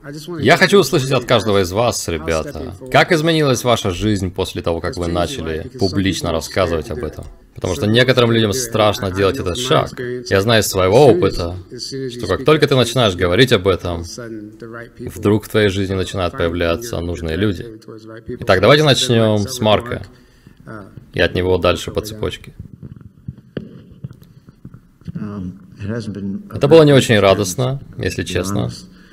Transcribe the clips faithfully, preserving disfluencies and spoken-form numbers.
Я хочу услышать от каждого из вас, ребята, как изменилась ваша жизнь после того, как вы начали публично рассказывать об этом. Потому что некоторым людям страшно делать этот шаг. Я знаю из своего опыта, что как только ты начинаешь говорить об этом, вдруг в твоей жизни начинают появляться нужные люди. Итак, давайте начнем с Марка, и от него дальше по цепочке. Это было не очень радостно, если честно.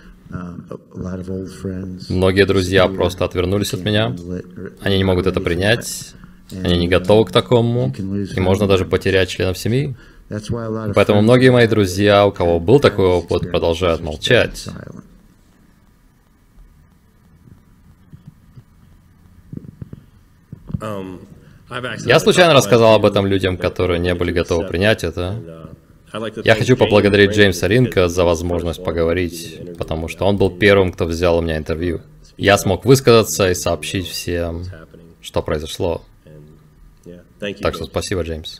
Многие друзья просто отвернулись от меня. Они не могут это принять. Они не готовы к такому. И можно даже потерять членов семьи. Поэтому многие мои друзья, у кого был такой опыт, продолжают молчать. Я случайно рассказал об этом людям, которые не были готовы принять это. Я хочу поблагодарить Джеймса Ринка за возможность поговорить, потому что он был первым, кто взял у меня интервью. Я смог высказаться и сообщить всем, что произошло. Так что спасибо, Джеймс.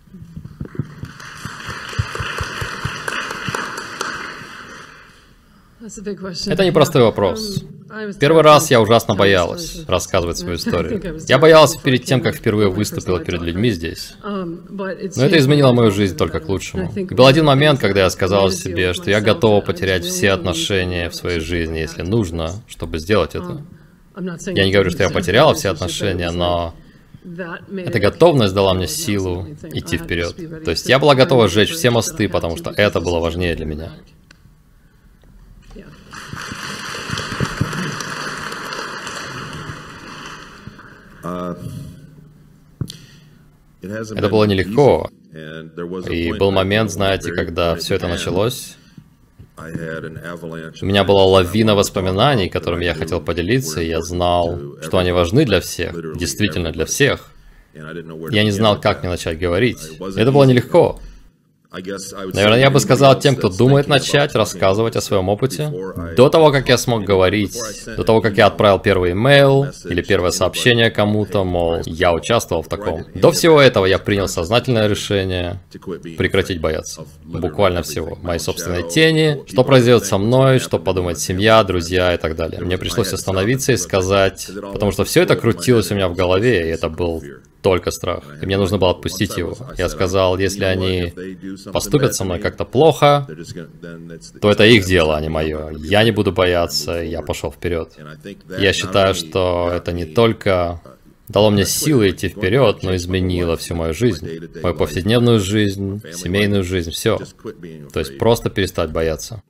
Это непростой вопрос. Первый раз я ужасно боялась рассказывать свою историю. Я боялась перед тем, как впервые выступила перед людьми здесь. Но это изменило мою жизнь только к лучшему. И был один момент, когда я сказала себе, что я готова потерять все отношения в своей жизни, если нужно, чтобы сделать это. Я не говорю, что я потеряла все отношения, но эта готовность дала мне силу идти вперед. То есть я была готова сжечь все мосты, потому что это было важнее для меня. Это было нелегко. И был момент, знаете, когда все это началось. У меня была лавина воспоминаний, которыми я хотел поделиться, и я знал, что они важны для всех, действительно для всех. Я не знал, как мне начать говорить. Это было нелегко. Наверное, я бы сказал тем, кто думает начать рассказывать о своем опыте, до того, как я смог говорить, до того, как я отправил первый имейл или первое сообщение кому-то, мол, я участвовал в таком. До всего этого я принял сознательное решение прекратить бояться. Буквально всего. Моей собственной тени, что произойдет со мной, что подумает семья, друзья и так далее. Мне пришлось остановиться и сказать, потому что все это крутилось у меня в голове, и это был только страх. И мне нужно было отпустить его. Я сказал, если они поступят со мной как-то плохо, то это их дело, а не мое. Я не буду бояться, и я пошел вперед. Я считаю, что это не только дало мне силы идти вперед, но изменило всю мою жизнь. Мою повседневную жизнь, семейную жизнь, все. То есть просто перестать бояться.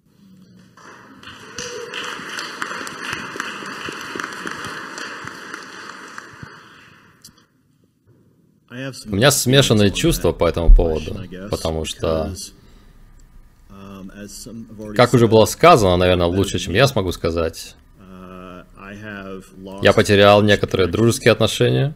У меня смешанные чувства по этому поводу, потому что, как уже было сказано, наверное, лучше, чем я смогу сказать, я потерял некоторые дружеские отношения.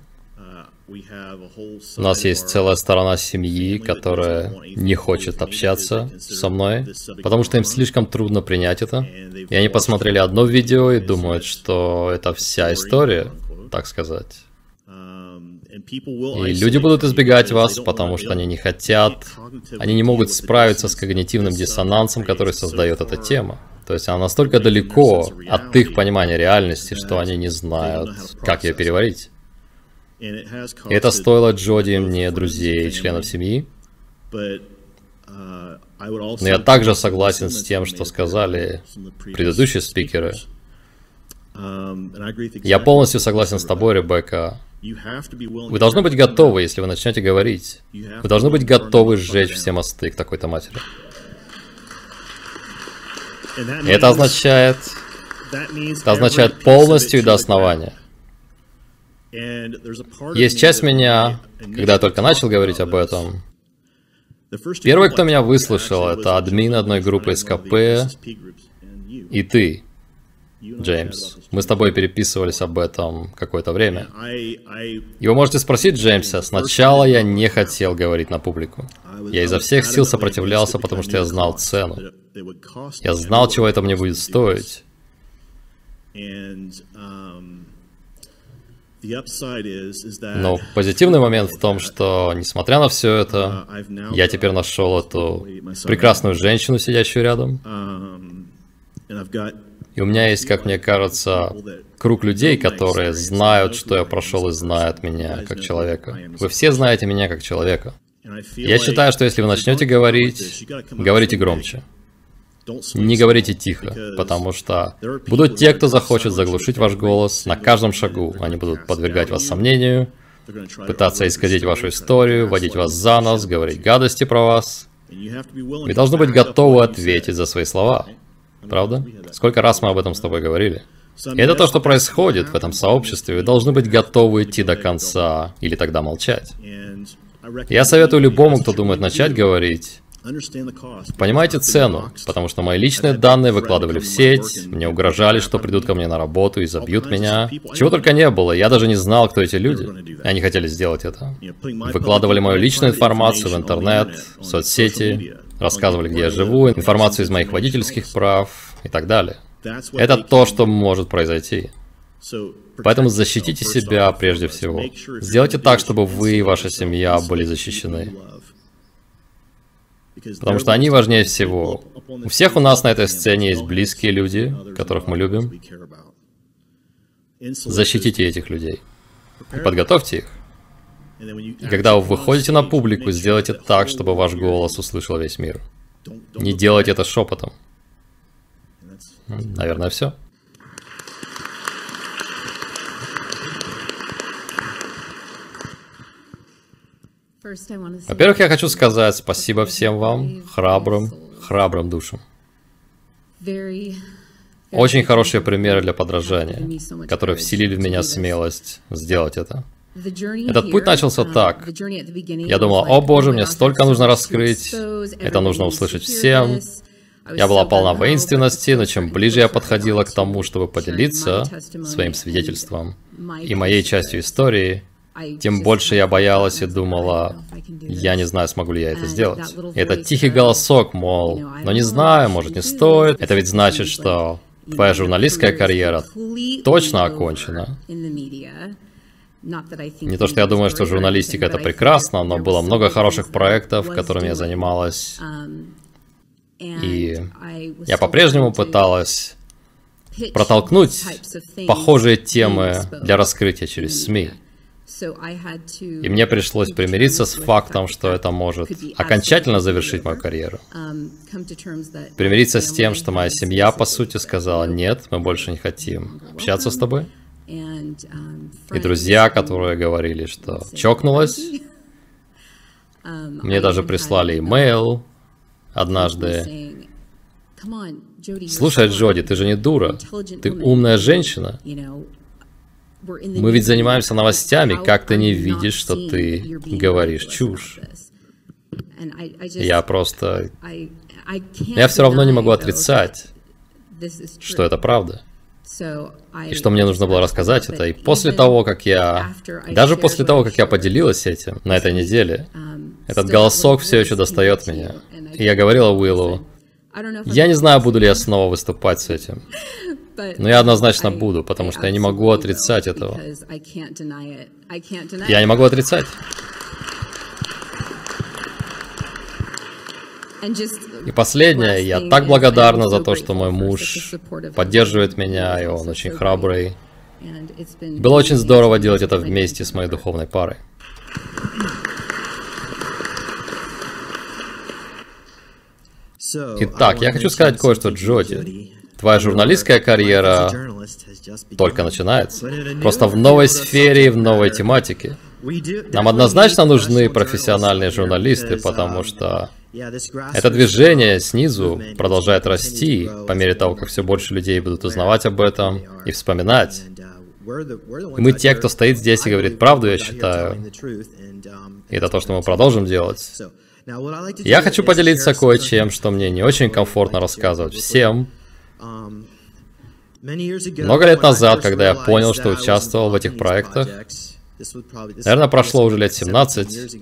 У нас есть целая сторона семьи, которая не хочет общаться со мной, потому что им слишком трудно принять это. И они посмотрели одно видео и думают, что это вся история, так сказать. И люди будут избегать вас, потому что они не хотят, они не могут справиться с когнитивным диссонансом, который создает эта тема. То есть она настолько далеко от их понимания реальности, что они не знают, как ее переварить. И это стоило Джоди и мне друзей и членов семьи. Но я также согласен с тем, что сказали предыдущие спикеры. Я полностью согласен с тобой, Ребекка. Вы должны быть готовы, если вы начнете говорить. Вы должны быть готовы сжечь все мосты к такой-то матери. И это означает... Это означает полностью и до основания. Есть часть меня, когда я только начал говорить об этом. Первый, кто меня выслушал, это админ одной группы эс ка пэ и ты, Джеймс. Мы с тобой переписывались об этом какое-то время. И вы можете спросить Джеймса, сначала я не хотел говорить на публику. Я изо всех сил сопротивлялся, потому что я знал цену. Я знал, чего это мне будет стоить. Но позитивный момент в том, что, несмотря на все это, я теперь нашел эту прекрасную женщину, сидящую рядом. И у меня есть, как мне кажется, круг людей, которые знают, что я прошел и знают меня как человека. Вы все знаете меня как человека. Я считаю, что если вы начнете говорить, говорите громче. Не говорите тихо, потому что будут те, кто захочет заглушить ваш голос на каждом шагу. Они будут подвергать вас сомнению, пытаться исказить вашу историю, водить вас за нос, говорить гадости про вас. Вы должны быть готовы ответить за свои слова. Правда? Сколько раз мы об этом с тобой говорили? И это то, что происходит в этом сообществе. Вы должны быть готовы идти до конца, или тогда молчать. Я советую любому, кто думает начать говорить, понимайте цену, потому что мои личные данные выкладывали в сеть, мне угрожали, что придут ко мне на работу и забьют меня. Чего только не было, я даже не знал, кто эти люди. Они хотели сделать это. Выкладывали мою личную информацию в интернет, в соцсети, рассказывали, где я живу, информацию из моих водительских прав и так далее. Это то, что может произойти. Поэтому защитите себя прежде всего. Сделайте так, чтобы вы и ваша семья были защищены. Потому что они важнее всего. У всех у нас на этой сцене есть близкие люди, которых мы любим. Защитите этих людей. И подготовьте их. И когда вы выходите на публику, сделайте так, чтобы ваш голос услышал весь мир. Не делайте это шепотом. Наверное, все. Во-первых, я хочу сказать спасибо всем вам, храбрым, храбрым душам. Очень хорошие примеры для подражания, которые вселили в меня смелость сделать это. Этот путь начался так. Я думал, о боже, мне столько нужно раскрыть, это нужно услышать всем. Я была полна воинственности, но чем ближе я подходила к тому, чтобы поделиться своим свидетельством и моей частью истории, тем больше я боялась и думала, я не знаю, смогу ли я это сделать. И этот тихий голосок, мол, но не знаю, может не стоит. Это ведь значит, что твоя журналистская карьера точно окончена. Не то, что я думаю, что журналистика это прекрасно, но было много хороших проектов, которыми я занималась. И я по-прежнему пыталась протолкнуть похожие темы для раскрытия через СМИ. И мне пришлось примириться с фактом, что это может окончательно завершить мою карьеру. Примириться с тем, что моя семья, по сути, сказала, нет, мы больше не хотим общаться с тобой. И друзья, которые говорили, что чокнулась. Мне даже прислали имейл однажды. Слушай, Джоди, ты же не дура. Ты умная женщина. Мы ведь занимаемся новостями, как ты не видишь, что ты говоришь чушь? Я просто... Я все равно не могу отрицать, что это правда. И что мне нужно было рассказать это. И после того, как я... Даже после того, как я поделилась этим на этой неделе, этот голосок все еще достает меня. И я говорила Уиллу, я не знаю, буду ли я снова выступать с этим. Но я однозначно буду, потому что я не могу отрицать этого. Я не могу отрицать. И последнее, я так благодарна за то, что мой муж поддерживает меня, и он очень храбрый. Было очень здорово делать это вместе с моей духовной парой. Итак, я хочу сказать кое-что, Джоди. Твоя журналистская карьера только начинается. Просто в новой сфере и в новой тематике. Нам однозначно нужны профессиональные журналисты, потому что это движение снизу продолжает расти по мере того, как все больше людей будут узнавать об этом и вспоминать. И мы те, кто стоит здесь и говорит правду, я считаю. И это то, что мы продолжим делать. Я хочу поделиться кое-чем, что мне не очень комфортно рассказывать всем. Много лет назад, когда я понял, что участвовал в этих проектах, наверное, прошло уже лет семнадцать,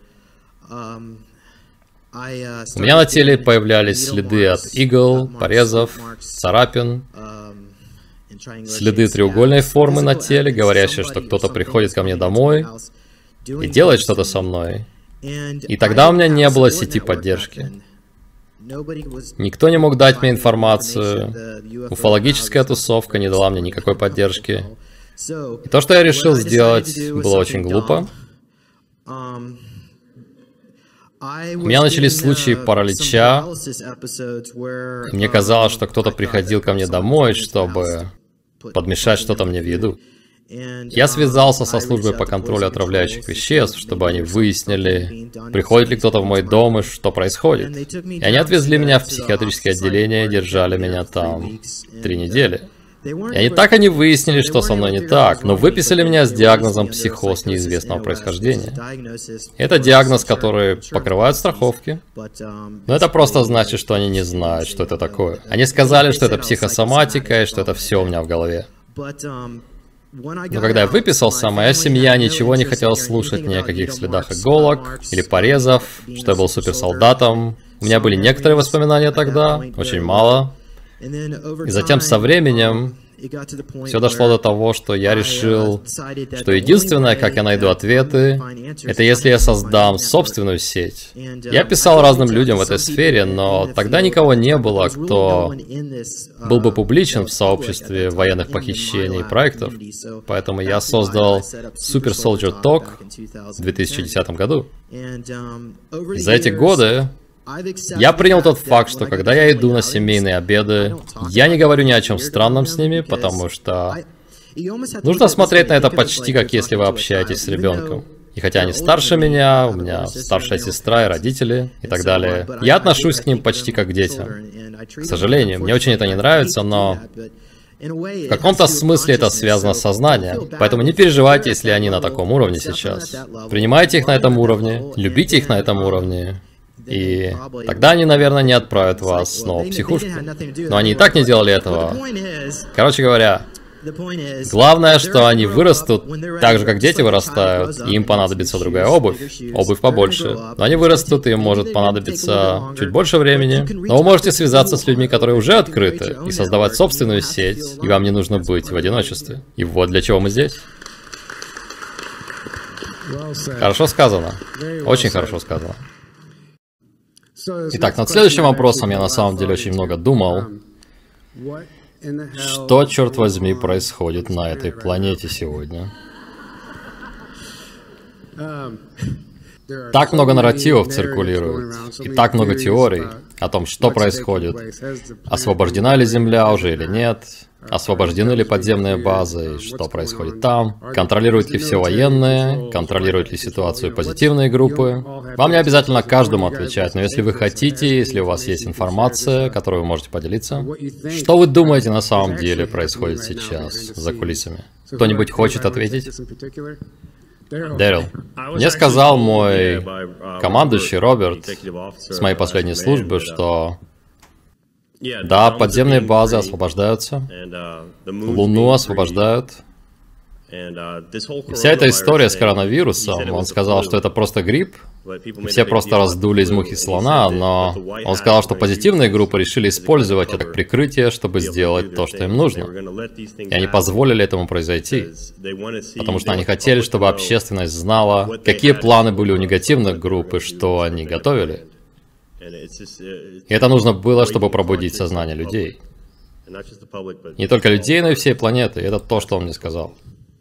у меня на теле появлялись следы от игл, порезов, царапин, следы треугольной формы на теле, говорящие, что кто-то приходит ко мне домой и делает что-то со мной. И тогда у меня не было сети поддержки. Никто не мог дать мне информацию. Уфологическая тусовка не дала мне никакой поддержки. И то, что я решил сделать, было очень глупо. У меня начались случаи паралича. Мне казалось, что кто-то приходил ко мне домой, чтобы подмешать что-то мне в еду. Я связался со службой по контролю отравляющих веществ, чтобы они выяснили, приходит ли кто-то в мой дом и что происходит. И они отвезли меня в психиатрическое отделение и держали меня там три недели. И они так и не выяснили, что со мной не так, но выписали меня с диагнозом психоз неизвестного происхождения. Это диагноз, который покрывают страховки, но это просто значит, что они не знают, что это такое. Они сказали, что это психосоматика и что это все у меня в голове. Но когда я выписался, моя семья ничего не хотела слушать ни о каких следах иголок или порезов, что я был суперсолдатом. У меня были некоторые воспоминания тогда, очень мало. И затем со временем все дошло до того, что я решил, что единственное, как я найду ответы, это если я создам собственную сеть. Я писал разным людям в этой сфере, но тогда никого не было, кто был бы публичен в сообществе военных похищений и проектов. Поэтому я создал Super Soldier Talk в две тысячи десятом году. И за эти годы я принял тот факт, что когда я иду на семейные обеды, я не говорю ни о чем странном с ними, потому что нужно смотреть на это почти как если вы общаетесь с ребенком. И хотя они старше меня, у меня старшая сестра и родители и так далее, я отношусь к ним почти как к детям. К сожалению, мне очень это не нравится, но в каком-то смысле это связано с сознанием. Поэтому не переживайте, если они на таком уровне сейчас. Принимайте их на этом уровне, любите их на этом уровне. И тогда они, наверное, не отправят вас снова в психушку. Но они и так не делали этого. Короче говоря, главное, что они вырастут так же, как дети вырастают, и им понадобится другая обувь. Обувь побольше. Но они вырастут, и им может понадобиться чуть больше времени. Но вы можете связаться с людьми, которые уже открыты, и создавать собственную сеть, и вам не нужно быть в одиночестве. И вот для чего мы здесь. Хорошо сказано. Очень хорошо сказано. Итак, над следующим вопросом я на самом деле очень много думал. Что, черт возьми, происходит на этой планете сегодня? Так много нарративов циркулирует, и так много теорий о том, что происходит. Освобождена ли Земля уже или нет? Освобождены ли подземные базы, и что происходит там? Контролируют ли все военные? Контролируют ли ситуацию позитивные группы? Вам не обязательно каждому отвечать, но если вы хотите, если у вас есть информация, которую вы можете поделиться, что вы думаете на самом деле происходит сейчас за кулисами? Кто-нибудь хочет ответить? Дэрил. Мне сказал мой командующий Роберт с моей последней службы, что да, подземные базы освобождаются, Луну освобождают. И вся эта история с коронавирусом, он сказал, что это просто грипп, все просто раздули из мухи слона, но он сказал, что позитивные группы решили использовать это как прикрытие, чтобы сделать то, что им нужно. И они позволили этому произойти, потому что они хотели, чтобы общественность знала, какие планы были у негативных групп и что они готовили. И это нужно было, чтобы пробудить сознание людей. Не только людей, но и всей планеты. И это то, что он мне сказал.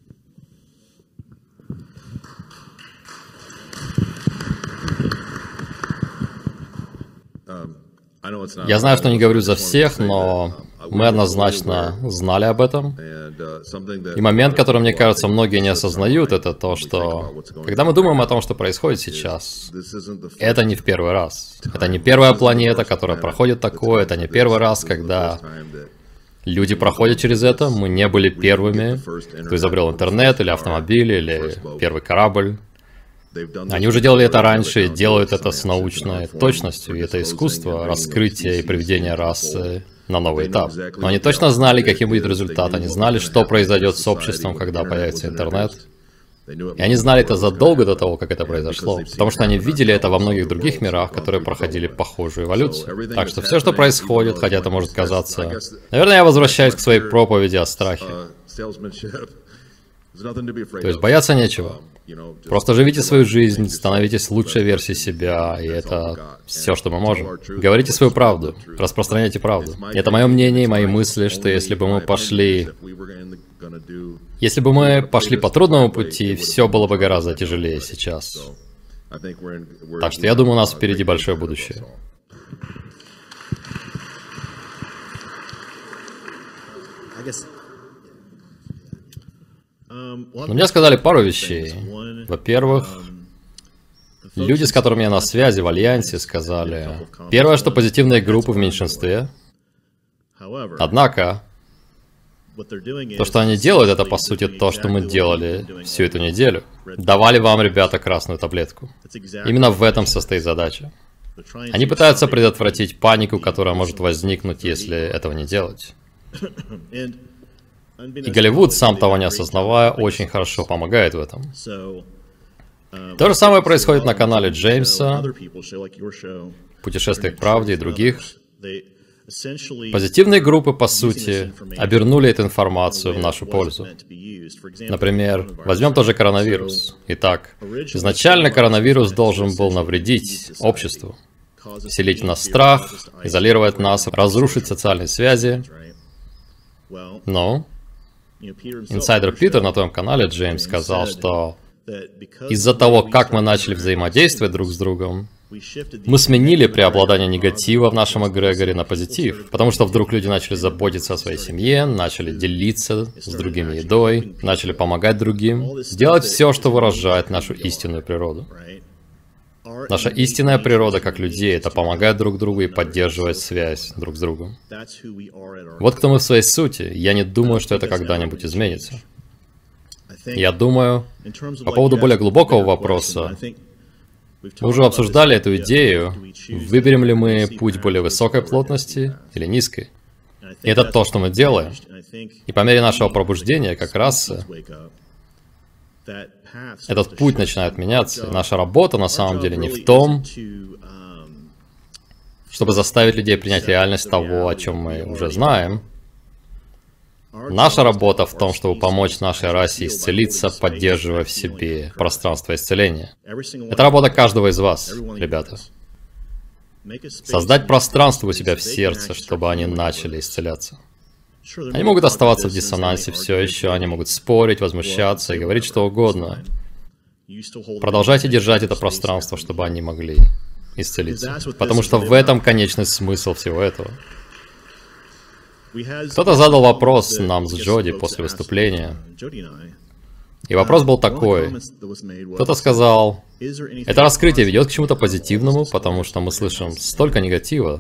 Я знаю, что не говорю за всех, но мы однозначно знали об этом. И момент, который, мне кажется, многие не осознают, это то, что когда мы думаем о том, что происходит сейчас, это не в первый раз. Это не первая планета, которая проходит такое, это не первый раз, когда люди проходят через это. Мы не были первыми, кто изобрел интернет, или автомобиль, или первый корабль. Они уже делали это раньше и делают это с научной точностью, и это искусство раскрытия и приведения расы на новый этап. Но они точно знали, каким будет результат, они знали, что произойдет с обществом, когда появится интернет. И они знали это задолго до того, как это произошло, потому что они видели это во многих других мирах, которые проходили похожую эволюцию. Так что все, что происходит, хотя это может казаться... Наверное, я возвращаюсь к своей проповеди о страхе. То есть бояться нечего. Просто живите свою жизнь, становитесь лучшей версией себя, и это все, что мы можем. Говорите свою правду, распространяйте правду. Это мое мнение и мои мысли, что если бы мы пошли... Если бы мы пошли по трудному пути, все было бы гораздо тяжелее сейчас. Так что я думаю, у нас впереди большое будущее. Но мне сказали пару вещей. Во-первых, люди, с которыми я на связи в Альянсе, сказали... Первое, что позитивные группы в меньшинстве. Однако, то, что они делают, это по сути то, что мы делали всю эту неделю. Давали вам, ребята, красную таблетку. Именно в этом состоит задача. Они пытаются предотвратить панику, которая может возникнуть, если этого не делать. И Голливуд, сам того не осознавая, очень хорошо помогает в этом. То же самое происходит на канале Джеймса, «Путешествие к правде» и других. Позитивные группы, по сути, обернули эту информацию в нашу пользу. Например, возьмем тоже коронавирус. Итак, изначально коронавирус должен был навредить обществу, вселить в нас страх, изолировать нас, разрушить социальные связи. Но инсайдер Питер на том канале Джеймс сказал, что из-за того, как мы начали взаимодействовать друг с другом, мы сменили преобладание негатива в нашем эгрегоре на позитив, потому что вдруг люди начали заботиться о своей семье, начали делиться с другими едой, начали помогать другим, делать все, что выражает нашу истинную природу. Наша истинная природа как людей — это помогать друг другу и поддерживать связь друг с другом. Вот кто мы в своей сути. Я не думаю, что это когда-нибудь изменится. Я думаю, по поводу более глубокого вопроса, мы уже обсуждали эту идею, выберем ли мы путь более высокой плотности или низкой. И это то, что мы делаем. И по мере нашего пробуждения, как расы, этот путь начинает меняться. Наша работа на самом деле не в том, чтобы заставить людей принять реальность того, о чем мы уже знаем. Наша работа в том, чтобы помочь нашей расе исцелиться, поддерживая в себе пространство исцеления. Это работа каждого из вас, ребята. Создать пространство у себя в сердце, чтобы они начали исцеляться. Они могут оставаться в диссонансе все еще, они могут спорить, возмущаться и говорить что угодно. Продолжайте держать это пространство, чтобы они могли исцелиться. Потому что в этом конечный смысл всего этого. Кто-то задал вопрос нам с Джоди после выступления. И вопрос был такой. Кто-то сказал, это раскрытие ведет к чему-то позитивному, потому что мы слышим столько негатива.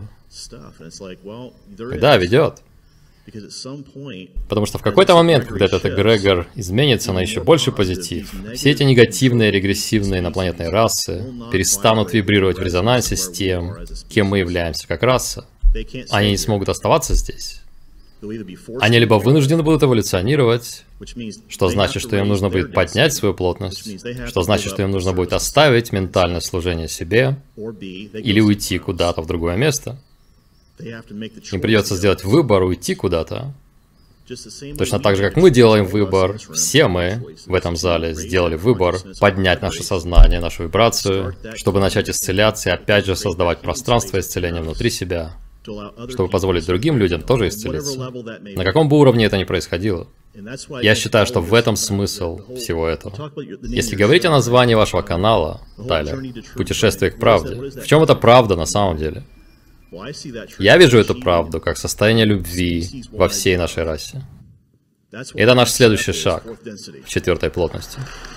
Да, ведет. Потому что в какой-то момент, когда этот эгрегор изменится на еще больший позитив, все эти негативные, регрессивные инопланетные расы перестанут вибрировать в резонансе с тем, кем мы являемся как раса. Они не смогут оставаться здесь. Они либо вынуждены будут эволюционировать, что значит, что им нужно будет поднять свою плотность, что значит, что им нужно будет оставить ментальное служение себе, или уйти куда-то в другое место. Им придется сделать выбор, уйти куда-то. Точно так же, как мы делаем выбор, все мы в этом зале сделали выбор поднять наше сознание, нашу вибрацию, чтобы начать исцеляться и опять же создавать пространство исцеления внутри себя, чтобы позволить другим людям тоже исцелиться. На каком бы уровне это ни происходило. Я считаю, что в этом смысл всего этого. Если говорить о названии вашего канала, Тайлер, «Путешествие к правде», в чем это правда на самом деле? Я вижу эту правду как состояние любви во всей нашей расе. И это наш следующий шаг в четвертой плотности.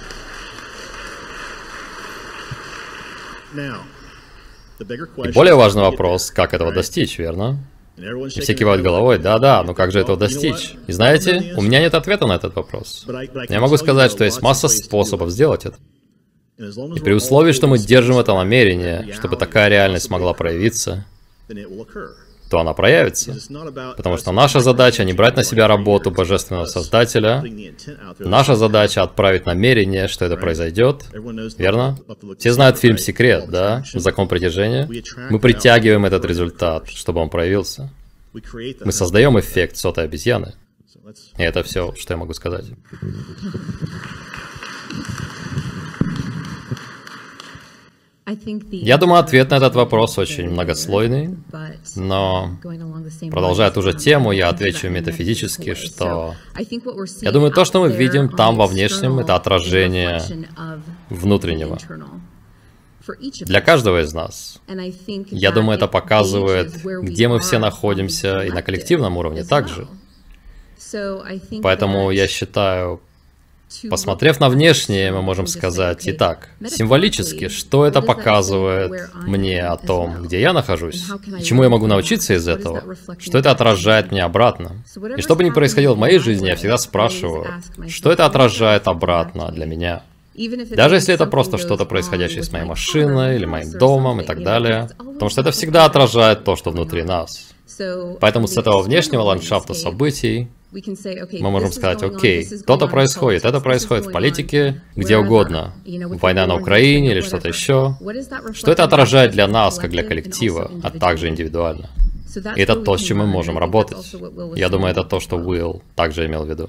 И более важный вопрос, как этого достичь, верно? И все кивают головой, да-да, но как же этого достичь? И знаете, у меня нет ответа на этот вопрос. Я могу сказать, что есть масса способов сделать это. И при условии, что мы держим это намерение, чтобы такая реальность могла проявиться, то она проявится. Потому что наша задача не брать на себя работу Божественного Создателя. Наша задача отправить намерение, что это произойдет. Верно? Все знают фильм «Секрет», да? Закон притяжения. Мы притягиваем этот результат, чтобы он проявился. Мы создаем эффект сотой обезьяны. И это все, что я могу сказать. Я думаю, ответ на этот вопрос очень многослойный, но, продолжая ту же тему, я отвечу метафизически, что я думаю, то, что мы видим там во внешнем, это отражение внутреннего. Для каждого из нас. Я думаю, это показывает, где мы все находимся, и на коллективном уровне также. Поэтому я считаю, посмотрев на внешнее, мы можем сказать, итак, символически, что это показывает мне о том, где я нахожусь, и чему я могу научиться из этого, что это отражает мне обратно. И что бы ни происходило в моей жизни, я всегда спрашиваю, что это отражает обратно для меня. Даже если это просто что-то происходящее с моей машиной, или моим домом, и так далее, потому что это всегда отражает то, что внутри нас. Поэтому с этого внешнего ландшафта событий мы можем сказать, окей, то-то происходит, это происходит в политике, где угодно, война на Украине или что-то еще. Что это отражает для нас, как для коллектива, а также индивидуально? И это то, с чем мы можем работать. Я думаю, это то, что Уилл также имел в виду.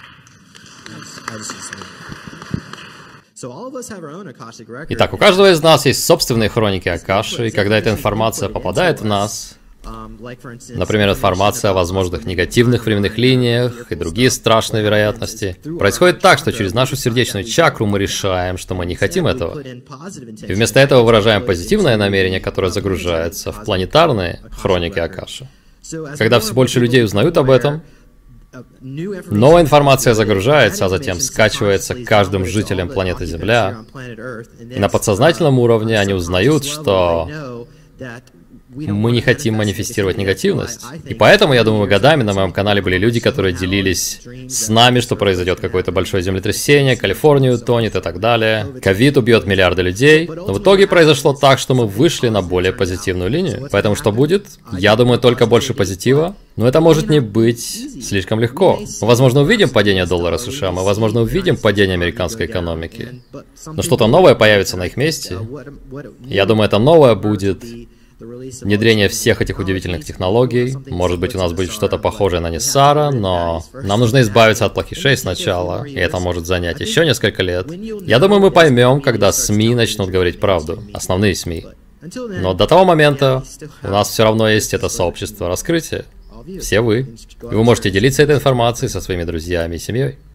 Итак, у каждого из нас есть собственные хроники Акаши, и когда эта информация попадает в нас, например, информация о возможных негативных временных линиях и другие страшные вероятности, происходит так, что через нашу сердечную чакру мы решаем, что мы не хотим этого. И вместо этого выражаем позитивное намерение, которое загружается в планетарные хроники Акаши. Когда все больше людей узнают об этом, новая информация загружается, а затем скачивается каждым жителям планеты Земля. И на подсознательном уровне они узнают, что мы не хотим манифестировать негативность. И поэтому, я думаю, годами на моем канале были люди, которые делились с нами, что произойдет какое-то большое землетрясение, Калифорния утонет и так далее. Ковид убьет миллиарды людей. Но в итоге произошло так, что мы вышли на более позитивную линию. Поэтому что будет? Я думаю, только больше позитива. Но это может не быть слишком легко. Мы, возможно, увидим падение доллара США, мы, возможно, увидим падение американской экономики. Но что-то новое появится на их месте. Я думаю, это новое будет внедрение всех этих удивительных технологий. Может быть, у нас будет что-то похожее на Ниссара, но нам нужно избавиться от плохишей сначала, и это может занять еще несколько лет. Я думаю, мы поймем, когда СМИ начнут говорить правду, основные СМИ. Но до того момента у нас все равно есть это сообщество раскрытия. Все вы. И вы можете делиться этой информацией со своими друзьями и семьей.